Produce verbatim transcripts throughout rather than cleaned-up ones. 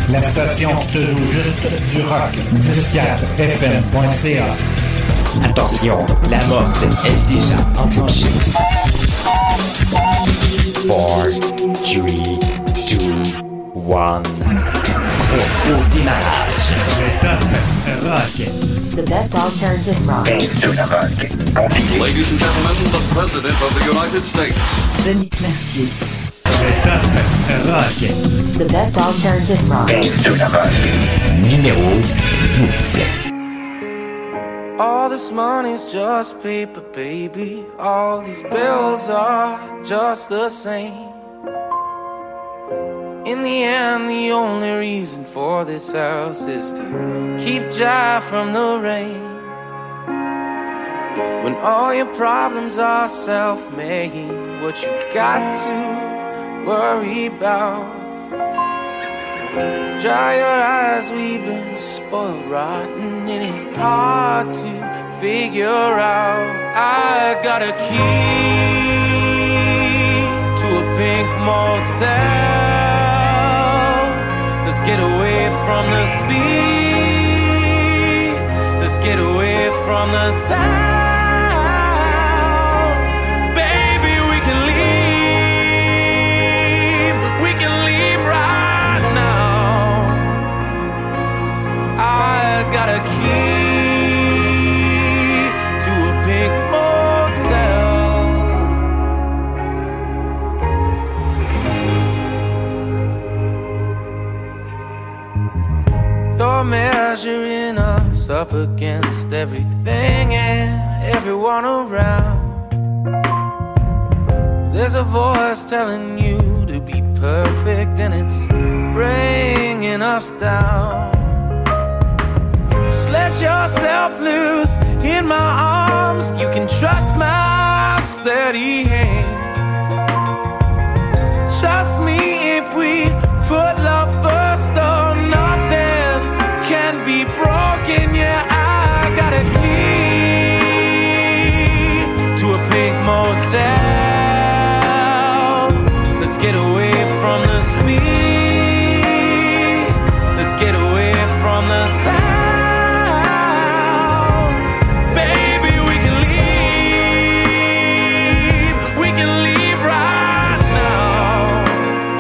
La station qui te joue juste du rock. dix quatre F M point C A. Attention, la morse est déjà enclenchée. four, three, two, one. Au démarrage. Le top rock. The best alternative rock. Baisse de la rock. Continue. Ladies and gentlemen, the President of the United States. Denis Mercier. Le top rock. The best alternative rock. Baisse de la rock. Numéro dix. All this money's just paper, baby. All these bills are just the same. In the end, the only reason for this house is to keep Jive from the rain. When all your problems are self-made, what you got to worry about? Dry your eyes, we've been spoiled rotten. It ain't hard to figure out. I got a key to a pink motel. Let's get away from the speed. Let's get away from the sound. Baby, we can leave. We can leave right now. I got a key to a pink motel. You're measuring us up against everything and everyone around. There's a voice telling you to be perfect, and it's bringing us down. Just let yourself loose in my arms. You can trust my steady hands. Trust me, if we put love first, oh, nothing can be broken. Yeah, I got a key to a pink motel. Let's get away from the speed. Let's get away from the sound. Baby, we can leave. We can leave right now.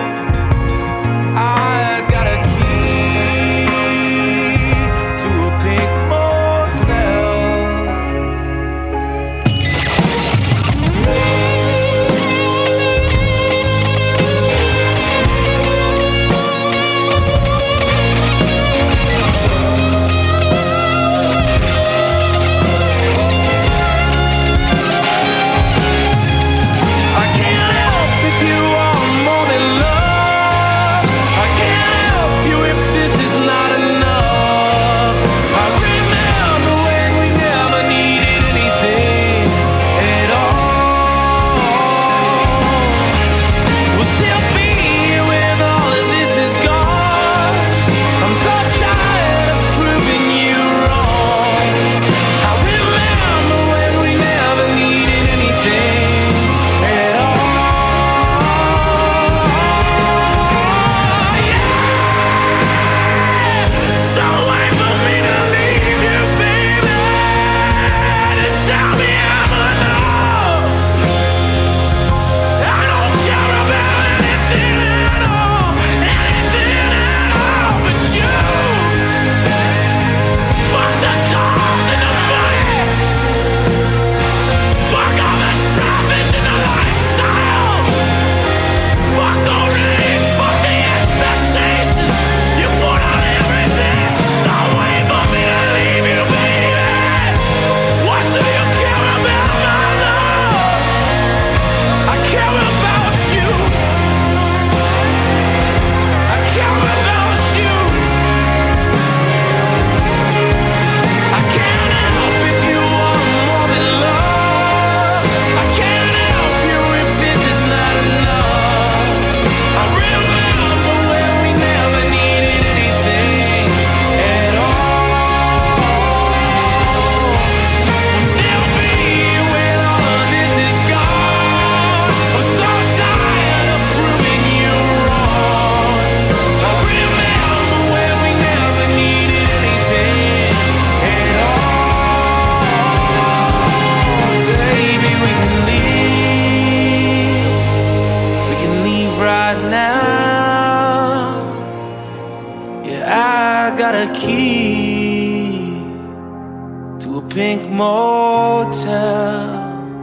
got a key to a pink motel.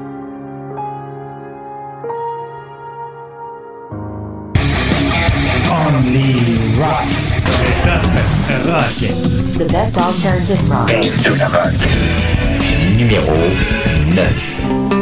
Only rock. Rock. The best alternative rock. Base de la rock. Numéro neuf.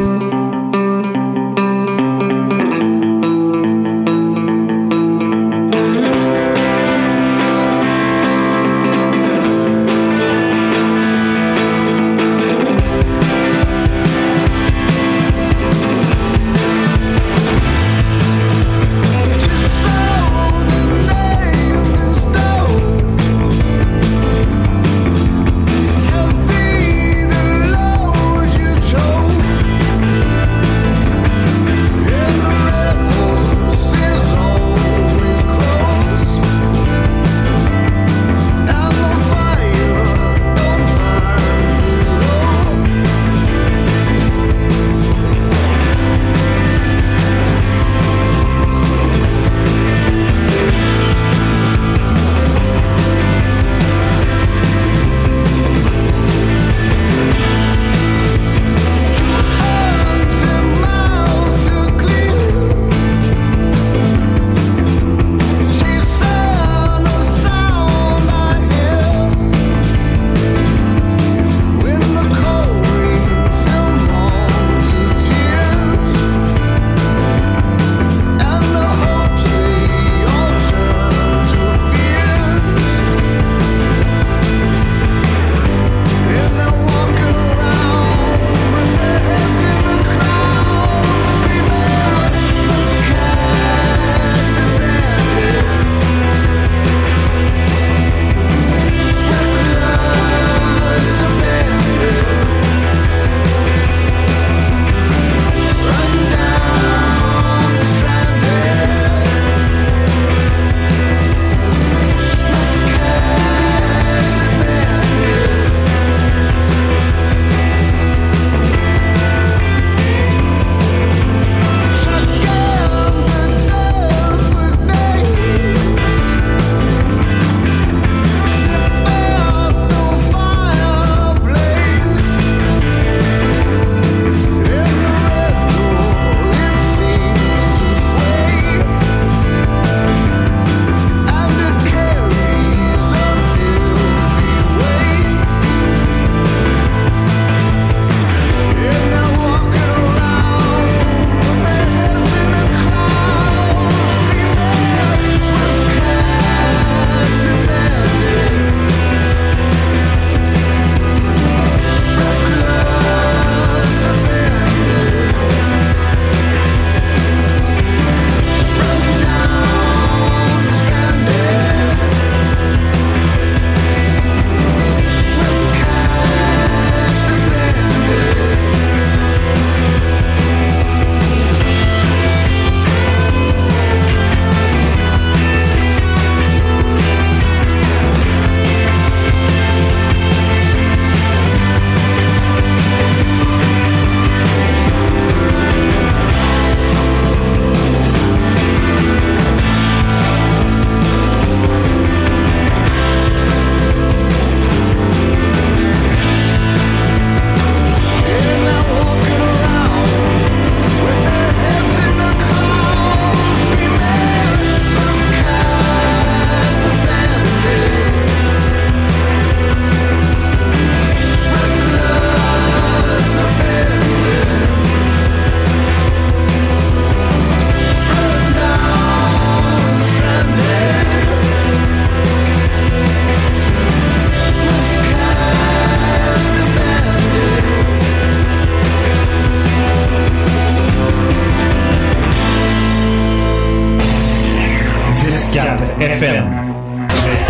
F M.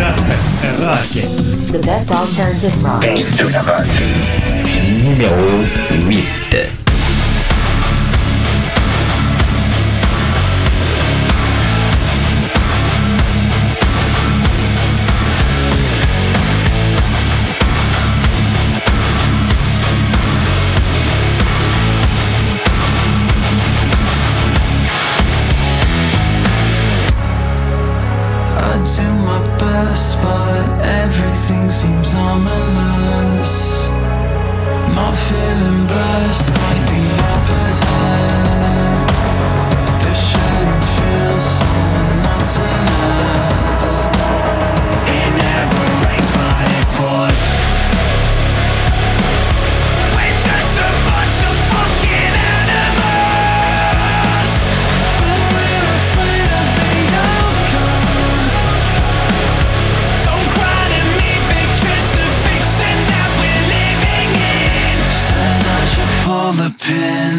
Rock. The best alternative rock. Base de la rock. Numéro huit. To my bed. best, but everything seems ominous. Not feeling blessed, quite the opposite. This shouldn't feel so monotonous. It never rains, but it pours. We're just a bunch of fucking animals, but we're afraid of the outcome. Don't cry to me, because the fiction that we're living in says I should pull the pin.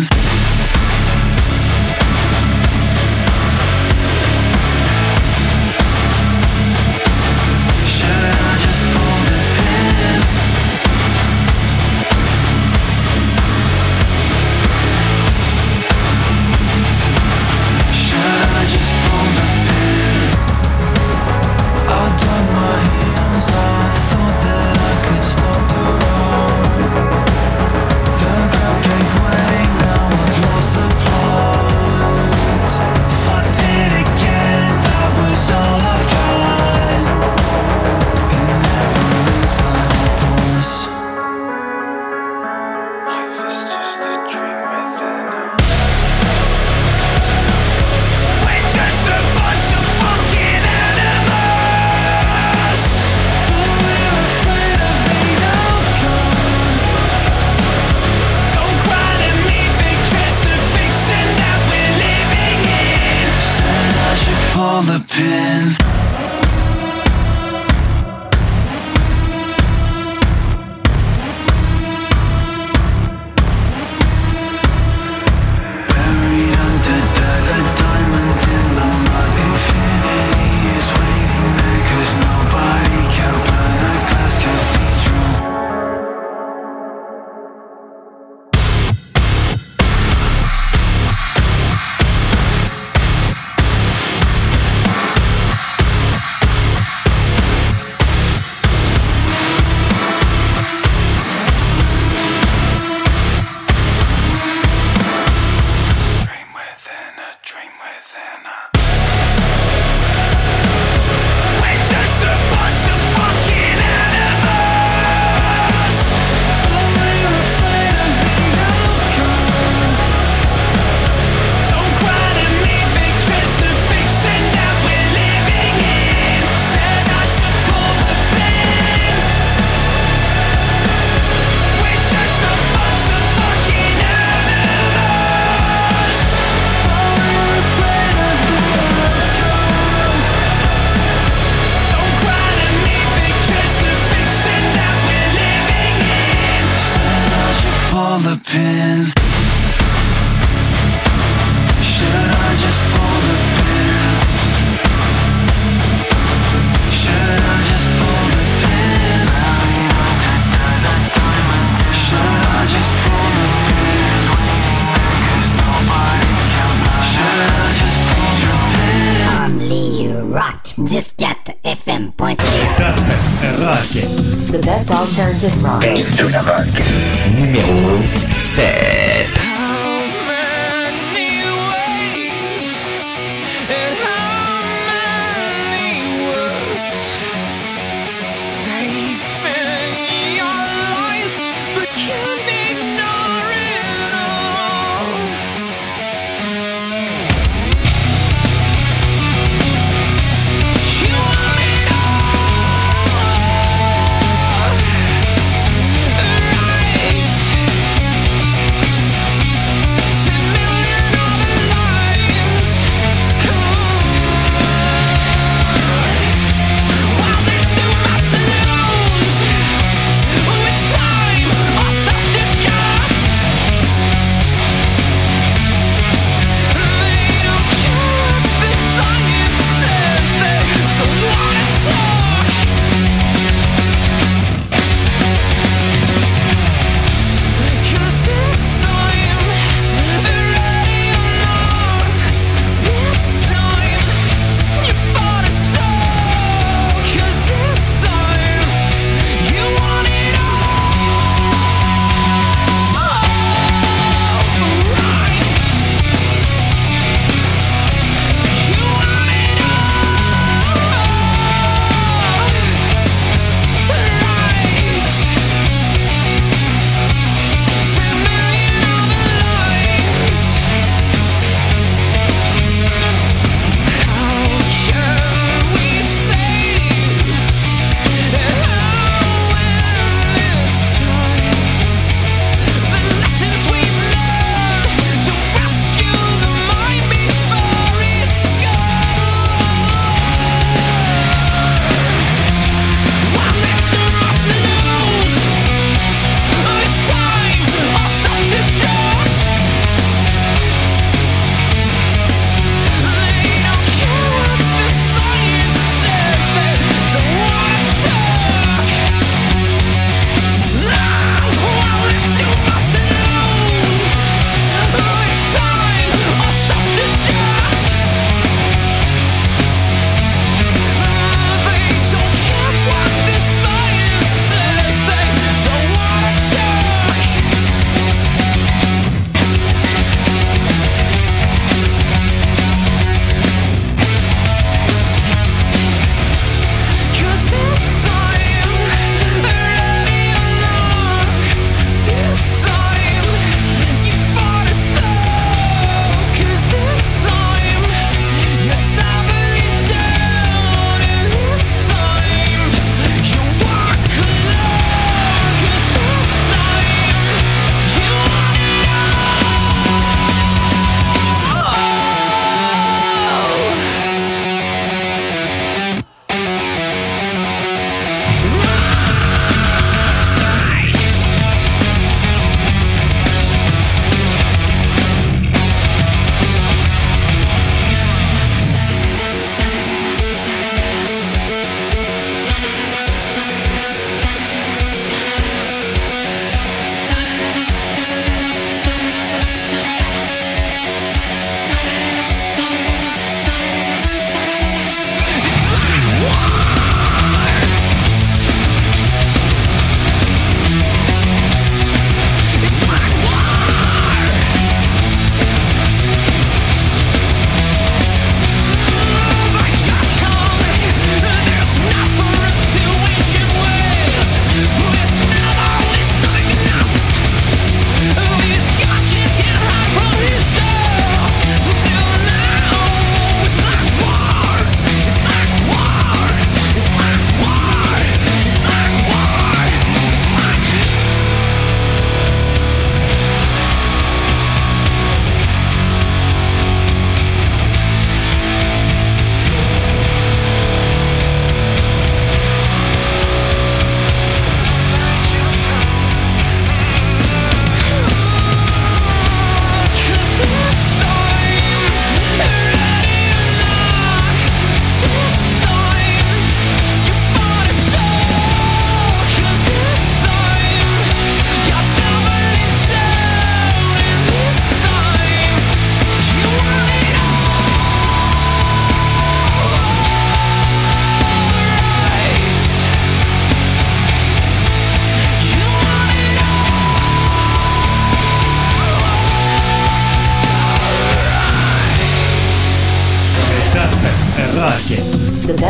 Pull the pin. Buried under dirt, a diamond in the mud. Infinity is waiting there, 'cause nobody can burn a glass cathedral. Pull the pin. Should I just pull the pin? Should I just pull the pin? Should I just pull the pin? Should I just pull the pin? Only rock. Disquette F M point C A. Top rock. The best alternative rock. Dave de la Rock. Numéro sept. Right.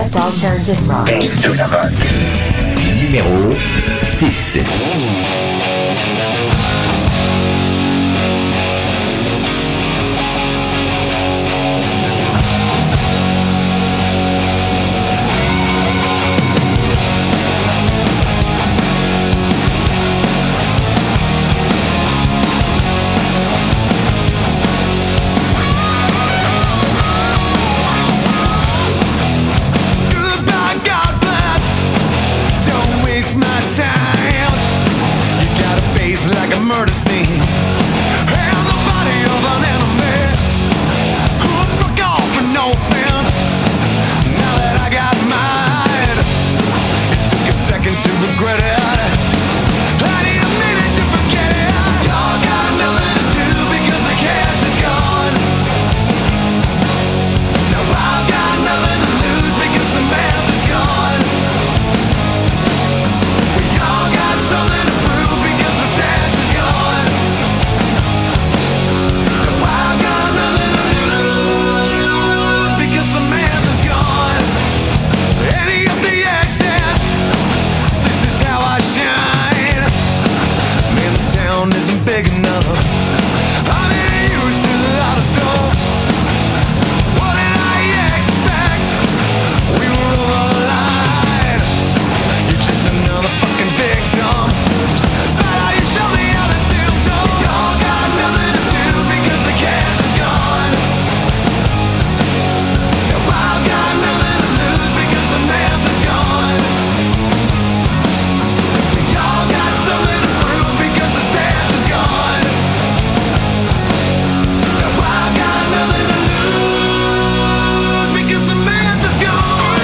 best alternative rock. Best de la rock. Numéro six. Like a murder scene, and the body of an enemy who forgot for no offense. Now that I got mine, it took a second to regret it. I didn't mean it to forget it. Y'all got nothing to do because the cash is gone. Now I've got nothing to lose because the math is gone. We all got something to prove because the stash is gone. Now I've got nothing to lose because the math is gone. Any of the excess, this is how I shine. Man, this town isn't big enough. I'm getting used to the lot of stuff. What did I expect? We were over the line. You're just another fucking victim. But how you show me all the symptoms. Y'all got nothing to do because the cash is gone. Now I've got nothing to lose because the math is gone. Y'all got something to prove because the stash is gone. Now I've got nothing to lose because the math is gone.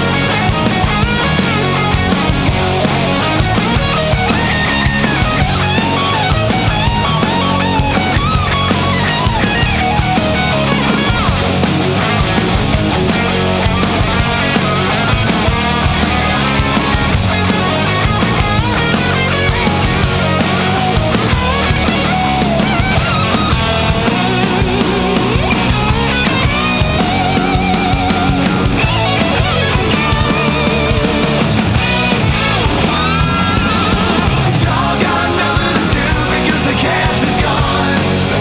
Y'all got nothing to do because the cash is gone.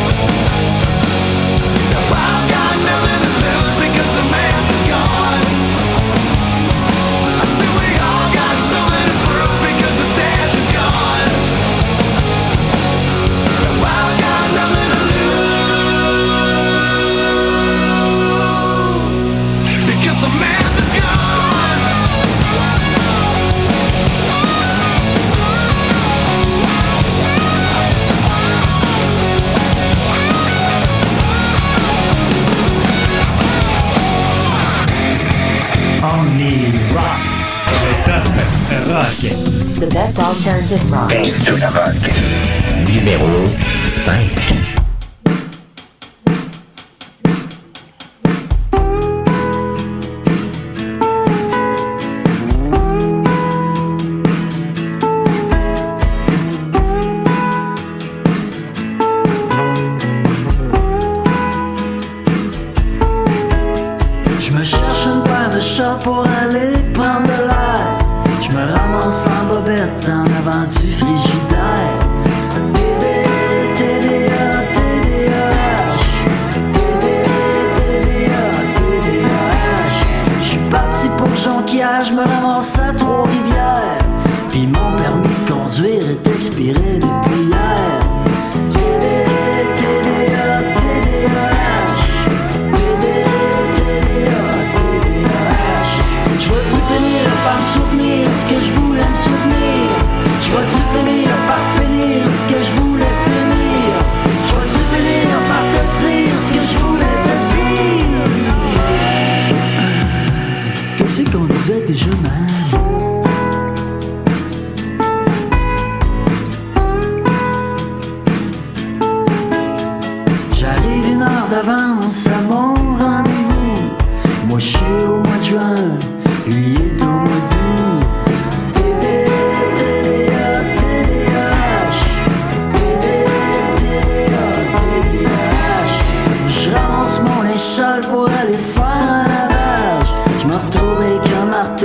Now I've got nothing to lose because the math is gone. I said we all got something to prove because the stash is gone. Now I've got nothing to lose because the math is gone. Only rock. Le top rock. The best alternative rock. Best de la rock. Numéro cinq. Je me cherche une paire de shorts pour aller prendre de l'air. Je me ramasse en bobette en avant du frigidaire. T D A, T D A, T D A H. T D A, T D A, T D A H. Je suis parti pour Jonquière, je me ramasse à Trois-Rivières. Puis mon permis de conduire est expiré depuis hier. T D A, T D A, T D A H. T D A, T D A, T D A H. Je vais-tu finir par me souvenir ce que je voulais me souvenir? Je vais-tu finir par finir ce que je voulais finir? Je vais-tu finir par te dire ce que je voulais te dire? Qu'est-ce qu'on disait déjà, man? J'arrive une heure d'avance à mon rendez-vous. Moi je suis au mois de juin, lui est au mois d'août. T D A, T D A, T D A H. T D A, T D A, T D A H. Je ramasse mon linge sale pour aller faire un lavage. Je me retrouve avec un marteau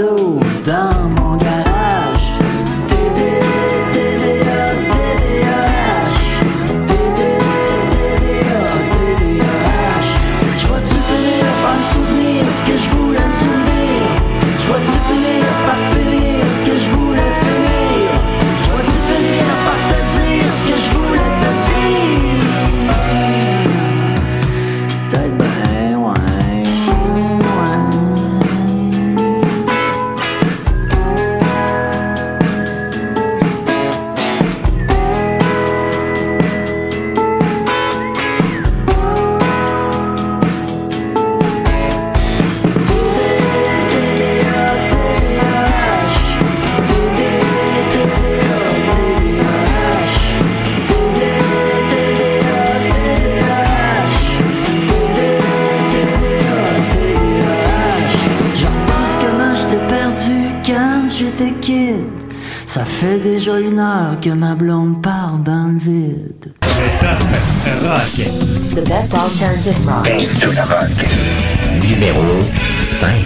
j'étais kid. Ça fait déjà une heure que ma blonde part dans le vide. Rock. The best alternative rock. Base de la rock. Numéro cinq.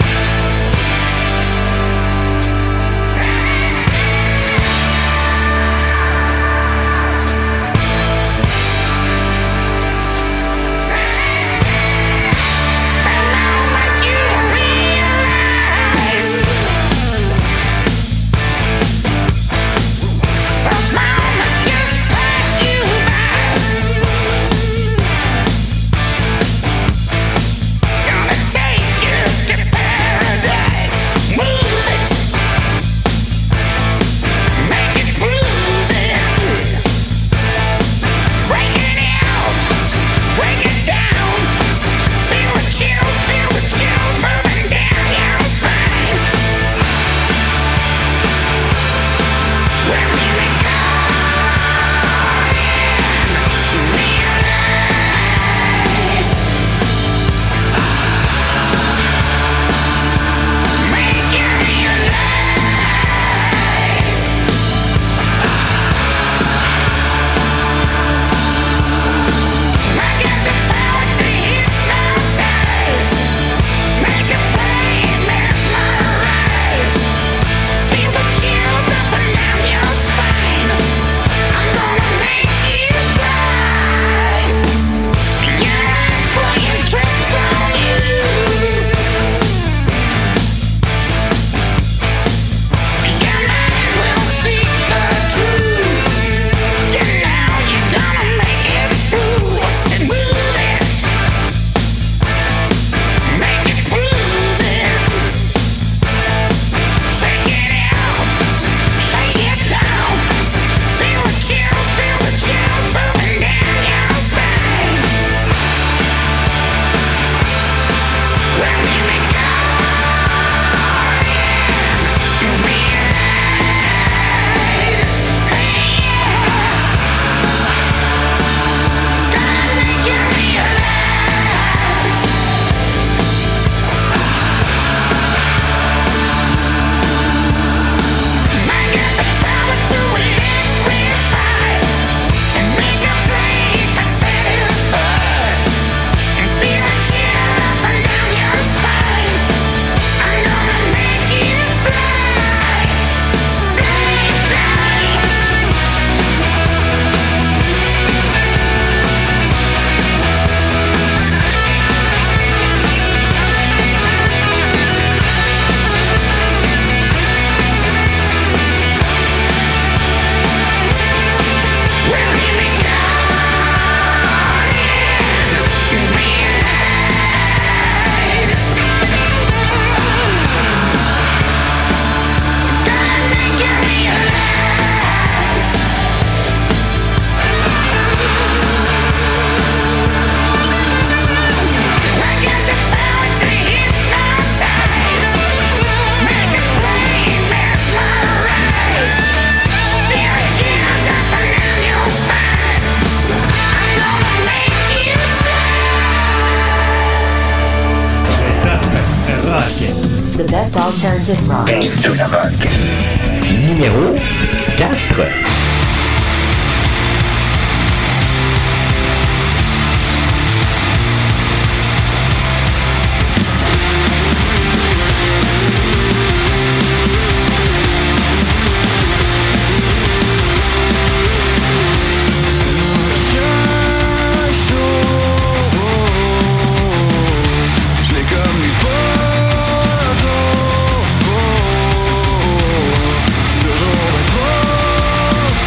The best alternative rock. Base de la rock. Numéro quatre. Toujours trop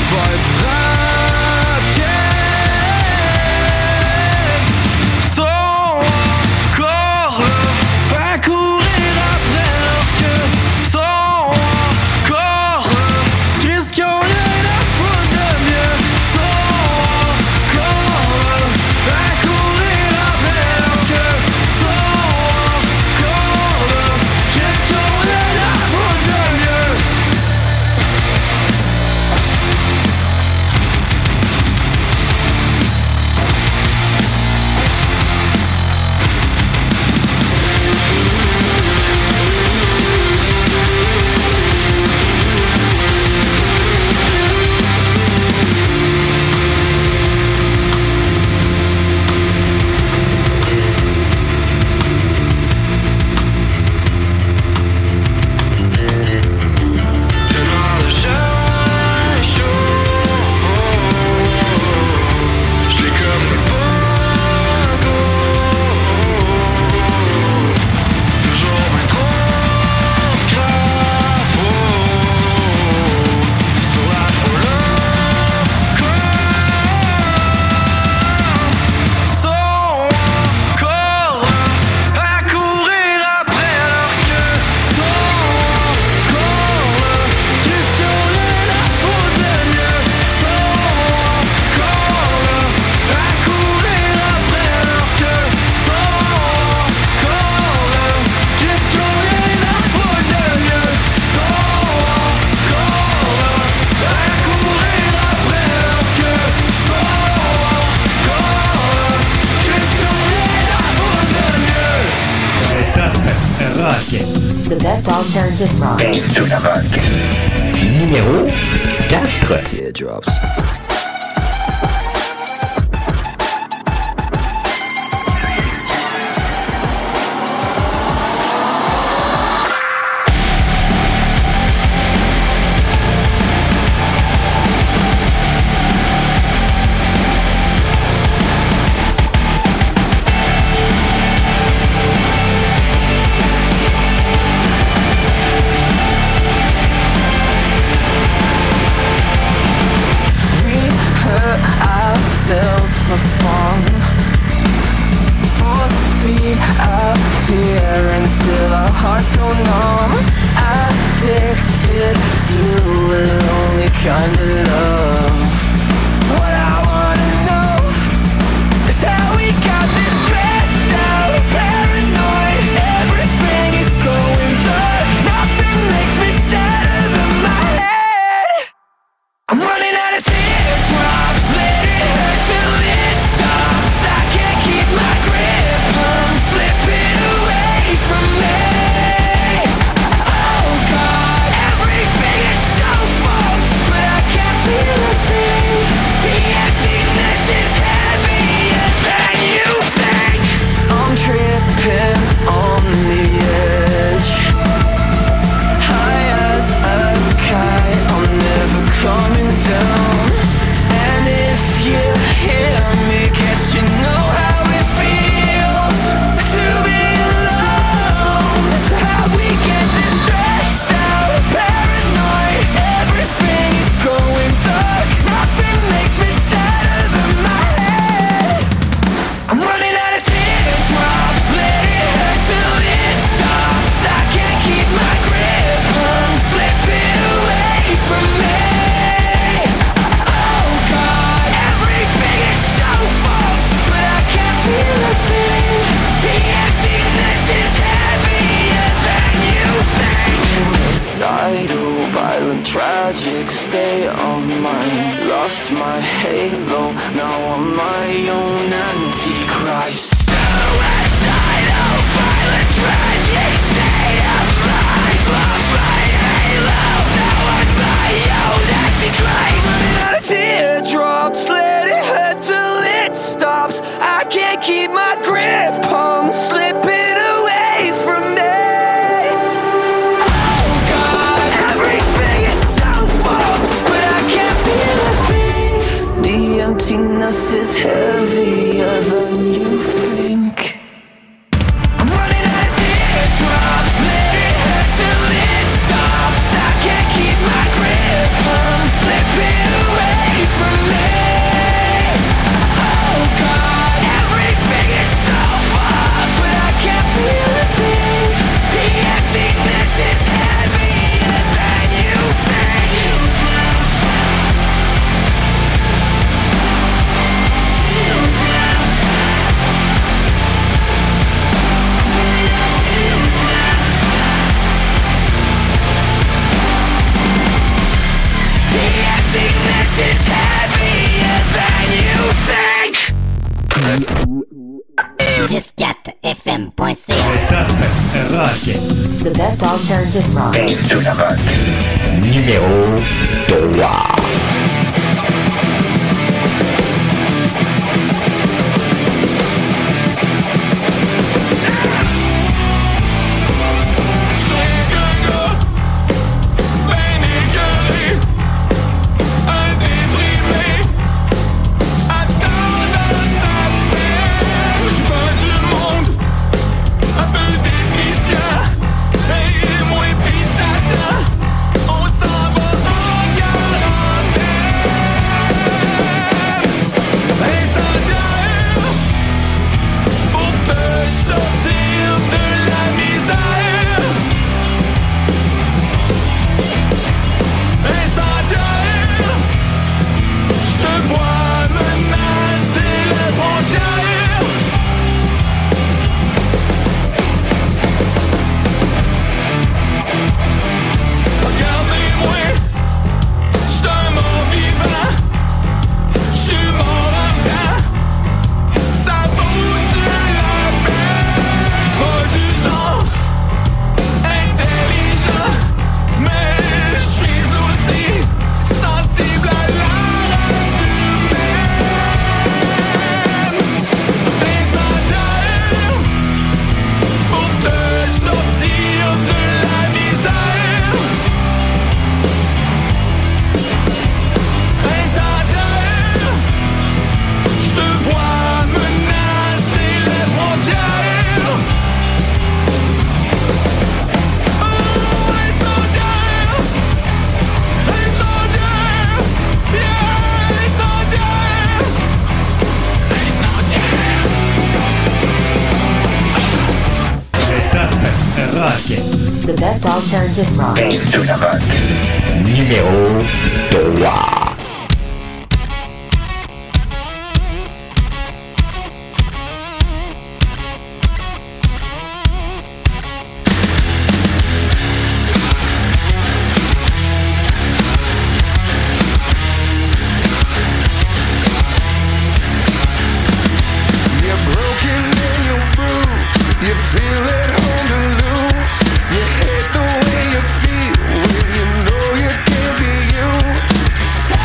fights Radken. Sont encore là à courir après leur queue. Sont encore là, qu'est-ce qu'on a à foutre de mieux. Sont encore là à courir après leur queue. Sont encore là, qu'est-ce qu'on a à foutre de mieux. The best alternative rock. Base de la rock. Numéro quatre. Teardrops. For fun, force feed our fear until our hearts go numb. Addicted to a lonely kind of love. What I wanna know is how we got this stressed out, paranoid. Everything is going dark. Nothing makes me sadder than my head. I'm running out of teardrops. Let it hurt till it stops. I can't keep my grip. I'm slipping away from me. Oh God, everything is so fucked, but I can't feel a thing. The emptiness is heavier than you think. I'm tripping on the edge, high as a kite. I'm never coming down. And if you hear me, guess you know how it feels to be alone. So how we get this stressed out, paranoid. Everything is going dark. Nothing makes me sadder than my head. I'm running out of teardrops. Let it hurt till it stops. I can't keep my grip. I'm slipping away from me. Oh God, everything is so fucked, but I can't feel a thing. The emptiness is heavier than you think. Suicidal, violent, tragic state of mind. Lost my halo, now I'm my own antichrist. Suicidal, violent, tragic state of mind. Lost my halo, now I'm my own antichrist. Running out of teardrops, let it hurt till it stops. I can't keep my grip, I'm slipping away from me. Oh God, everything is so fucked, but I can't feel a thing. The emptiness is heavier than you think. I'm running out of teardrops, let it hurt till it stops. I can't keep my grip, I'm slipping away. best alternative rock. Base de la mode. Numéro trois. The best alternative rock. Base de la mode. Numéro trois. Feel it home to lose. You hate the way you feel when you know you can't be you.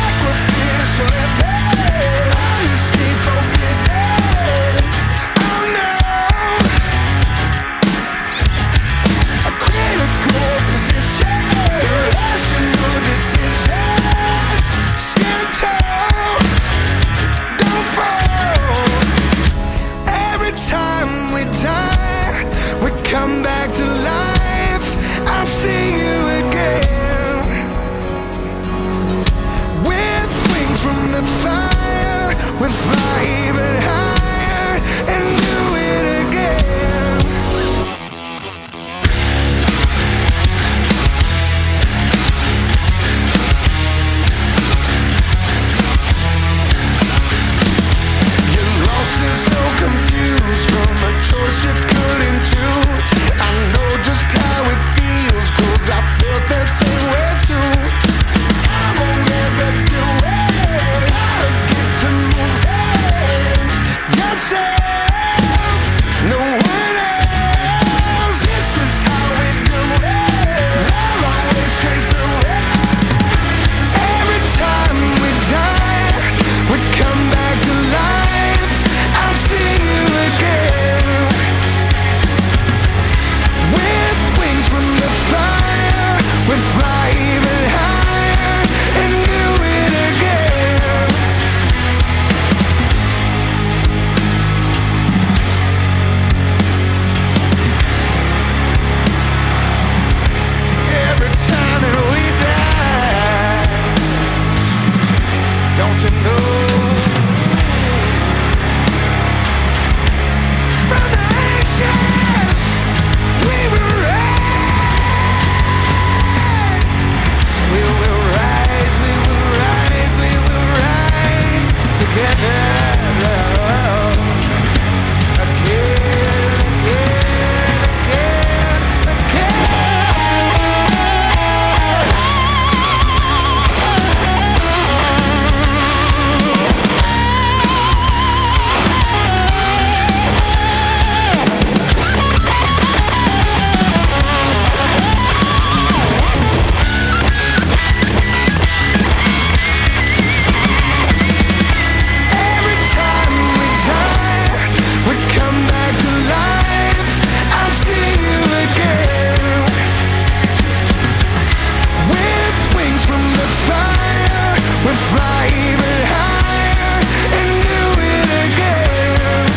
we fly even higher and do it again.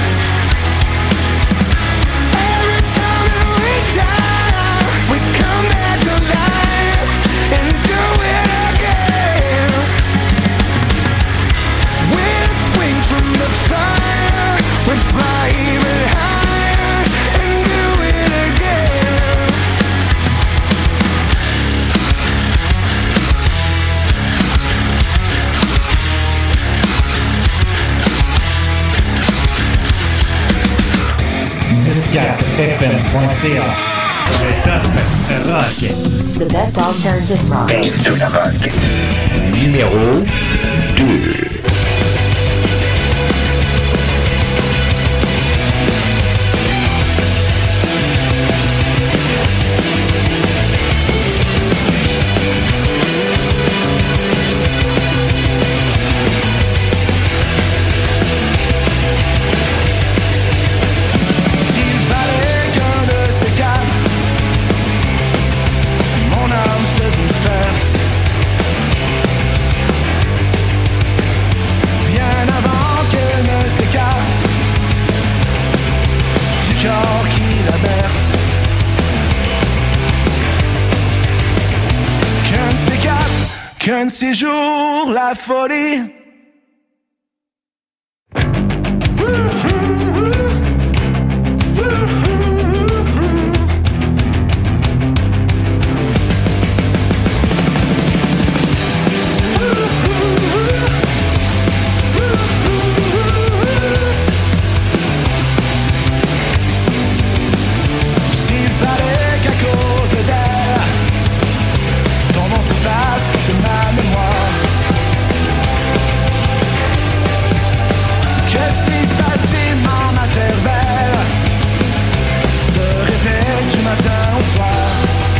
Every time that we die, we come back to life and do it again. With wings from the fire, we fly even higher and do it again. dix-quatre F M point C A. Le top rock. The best alternative rock. Base de la rock. Numéro deux. Qu'un de ces jours, la folie. S'il fallait qu'à cause d'elle, ton nom s'efface de ma mémoire, que si facilement ma cervelle se répète du matin au soir.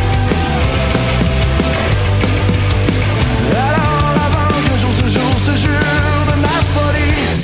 Alors avant que jour ce jour se jure de ma folie.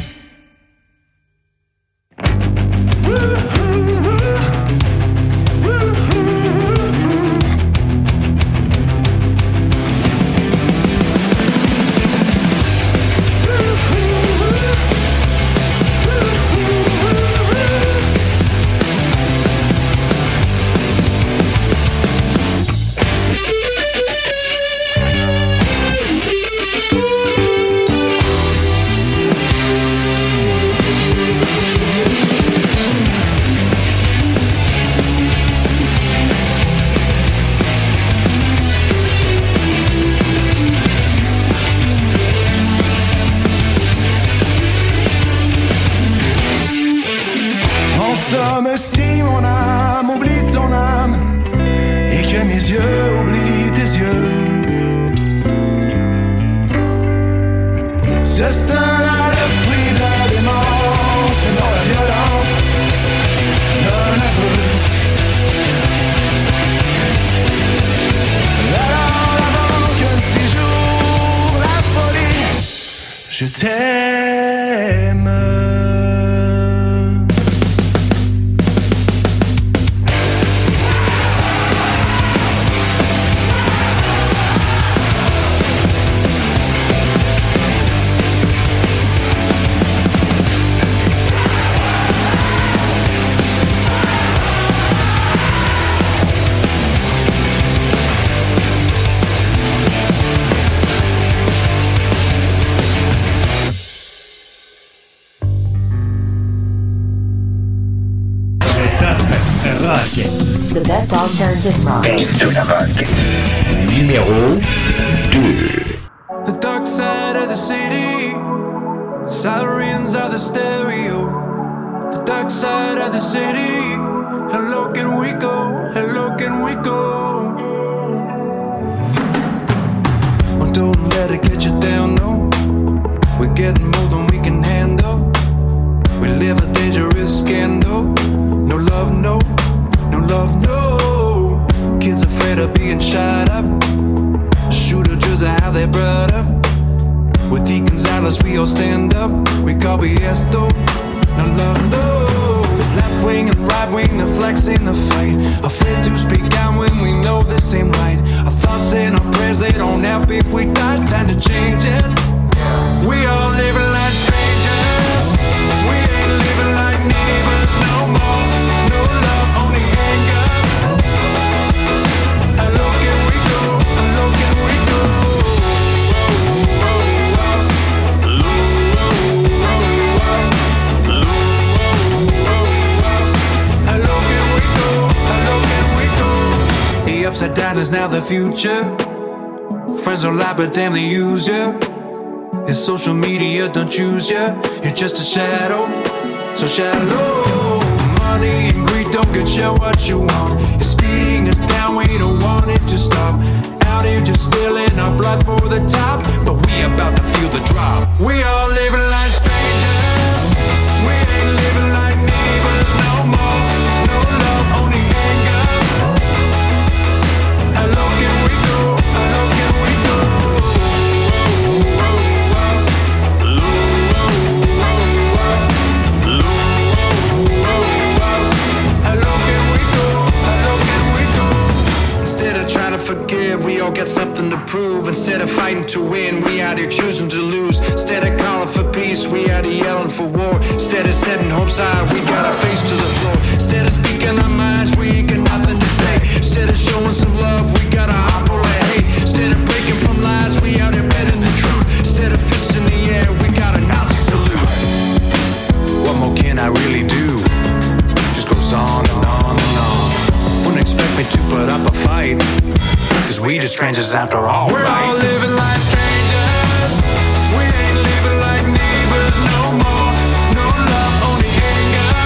En somme, si mon âme oublie ton âme et que mes yeux oublient tes yeux, ce sera le fruit de la démence et non la violence d'un aveu. Alors avant qu'un de ces jours la folie, je t'aime. rock. The best alternative rock. Base de la rock. Numéro deux. The dark side of the city, sirens are the stereo. The dark side of the city, hello can we go, hello can we go. Oh, don't let it get you down, no. We're getting more than we can handle. We live a dangerous scandal. No love, no, no love, no. Kids afraid of being shot up. Shooter just how they brought up. With the Gonzalez we all stand up. We call B S though. No love, no. Left wing and right wing, the flex in the fight. Afraid to speak down when we know this ain't right. Our thoughts and our prayers, they don't help if we die. Time to change it. mind is now the future. Friends don't lie, but damn, they use you. It's social media, don't choose you. You're just a shadow, so shallow. Money and greed don't get you what you want. It's speeding us down, we don't want it to stop. Out here just spilling our blood for the top, but we about to feel the drop. We all living like strangers. We ain't living like neighbors no more. No love, only anger. How low can we go? How low can we go? Forgive, we all got something to prove. Instead of fighting to win, we out here choosing to lose. Instead of calling for peace, we out here yelling for war. Instead of setting hopes high, we got our face to the floor. Instead of speaking our minds, we ain't got nothing to say. Instead of showing some love, we got a heart full of hate. Instead of breaking from lies, we out here betting the truth. Instead of fists in the air, we got a Nazi salute. What more can I really do? Just goes on and on and on. Wouldn't expect me to put up a fight, cause we just strangers after all. We're right? All living like strangers. We ain't living like neighbors no more. No love, only anger.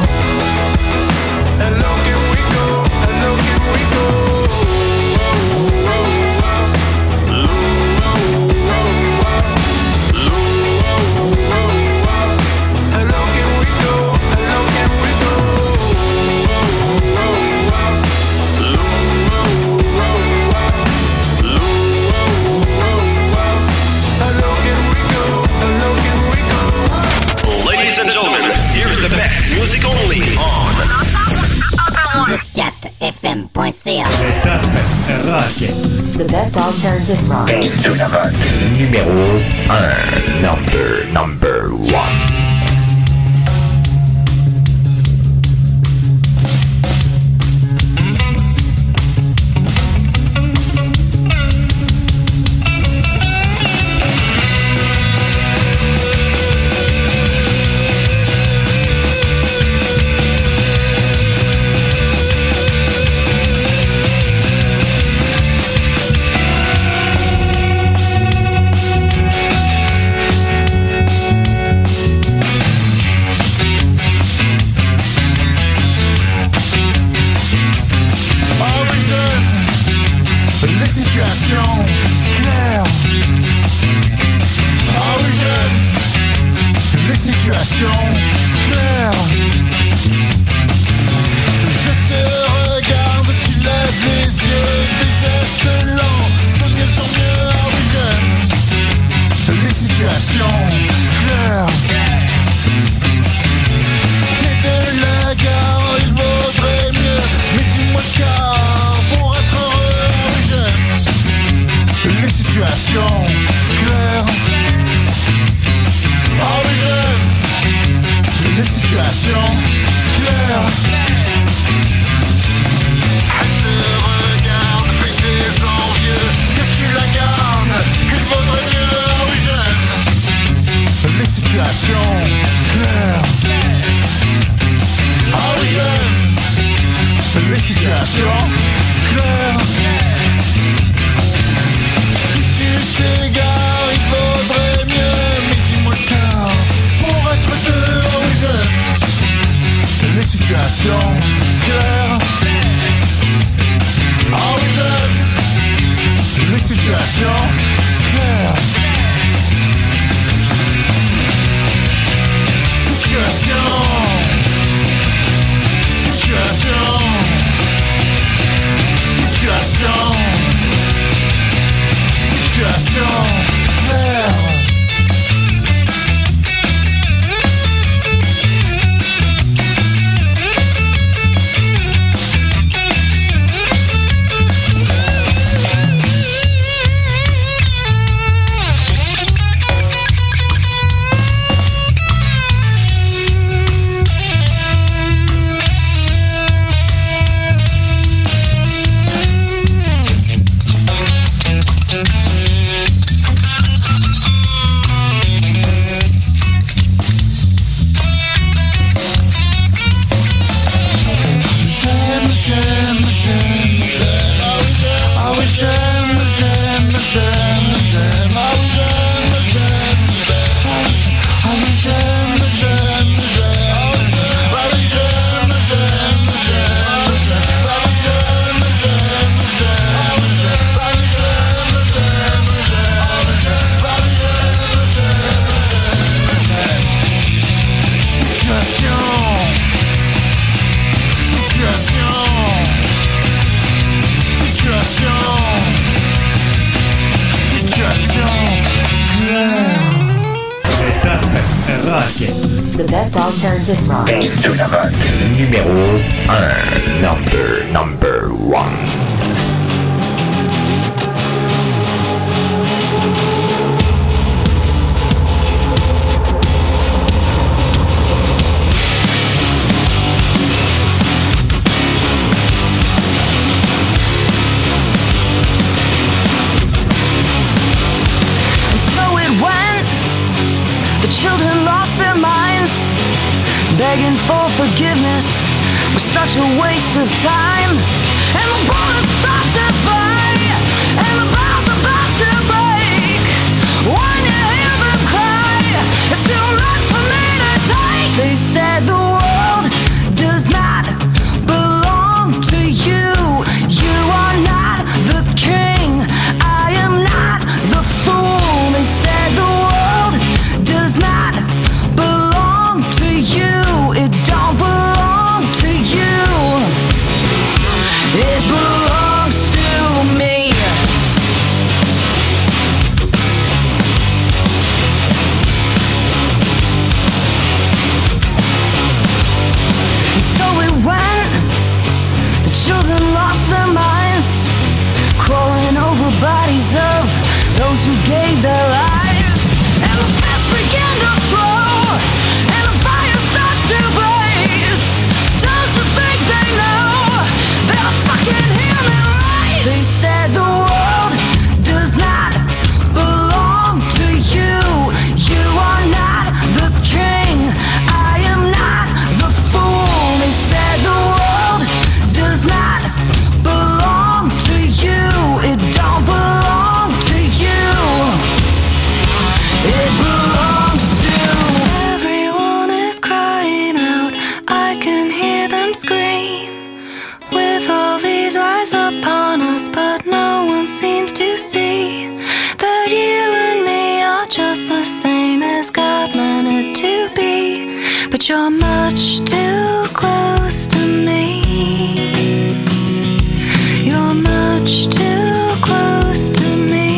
How low can we go? How low can we go? Ladies and gentlemen, here's the best music only on Disquette F M point C A. The best alternative rock. Numéro un. Number, number one. rock. The best alternative rock. Base de la rock. Numéro un. Number, number one. The children lost their minds, begging for forgiveness was such a waste of time. And the bullets start to fly, and the bombs about to break. When you hear them cry, it's too much for me to take. They said the world does not belong to you. You are not the king, I am not the fool. They said the world does not belong to you. It don't belong to you. It belongs to me. And so it went. The children lost their minds, crawling over bodies of those who gave their lives. And the fists begin to flow, and the fire starts to blaze. Don't you think they know they'll fucking hear me right? They said the world does not belong to you. You are not the king, I am not the fool. They said the world does not belong to you. It don't belong to you. It belongs to everyone is crying out. I can hear them scream. With all these eyes upon us, but no one seems to see that you and me are just the same as God meant it to be. But you're much too close to me. You're much too close to me.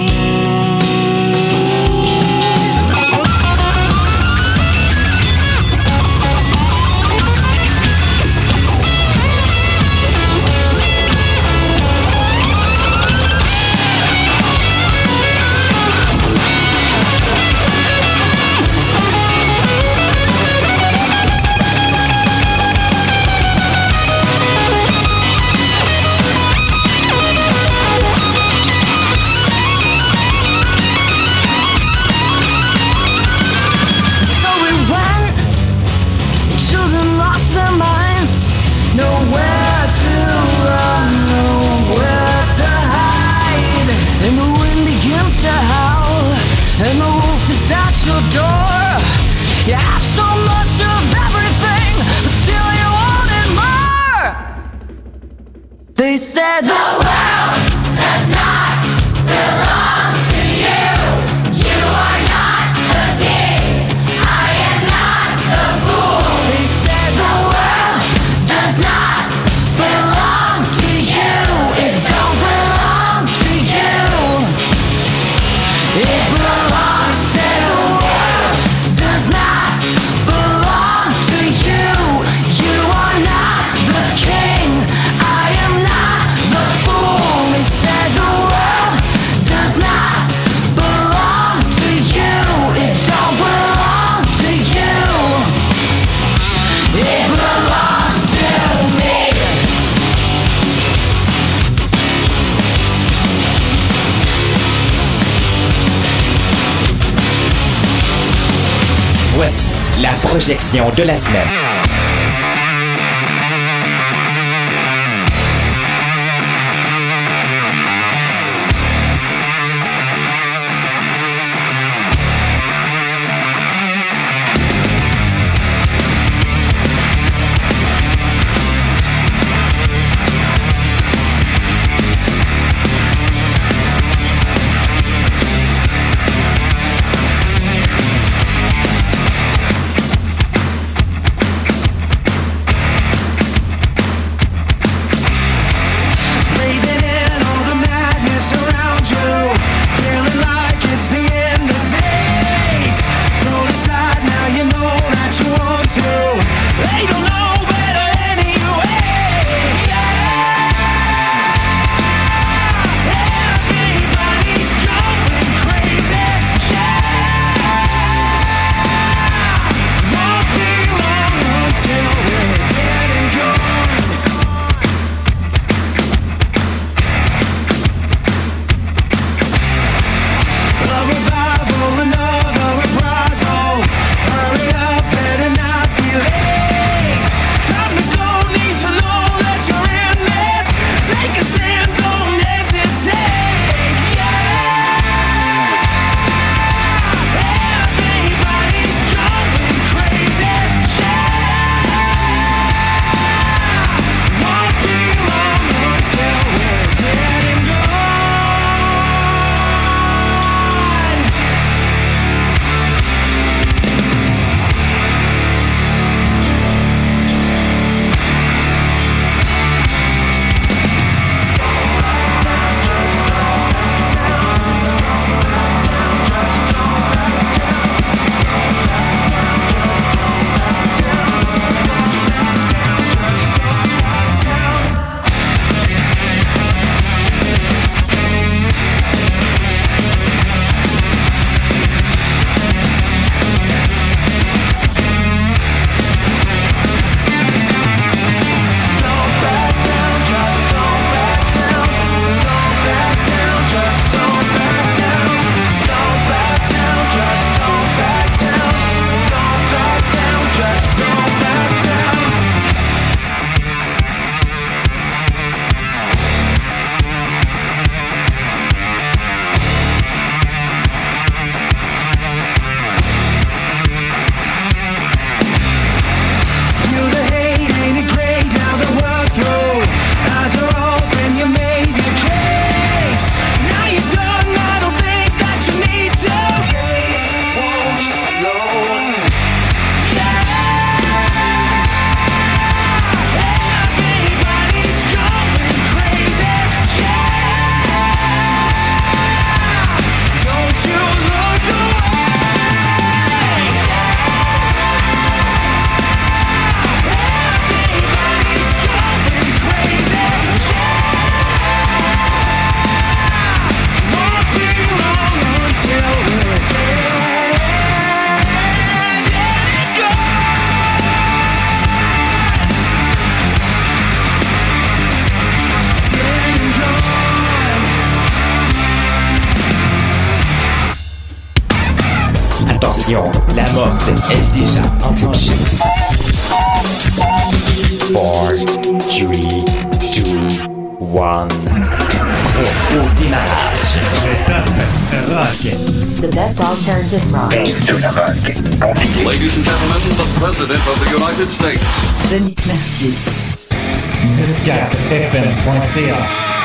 So it went. The children lost their minds. Nowhere to run, nowhere to hide. And the wind begins to howl, and the wolf is at your door. You have so much of everything, but still you wanted more. They said the world does not belong to you. You are not the king, I am not the fool. They said the world does not belong to you. It don't belong to you. It belongs to the world. Does not belong to you. You are not the king, I am not the fool. They said the world does not belong to you. It don't belong to you. It belongs to me. Voici la projection de la semaine. Attention, l'amorce est déjà enclenchée. four, three, two, one. Au démarrage. Rock. The best alternative rock. Ladies Ladies and gentlemen, the President of the United States. Denis Mercier. dix-quatre F M point C A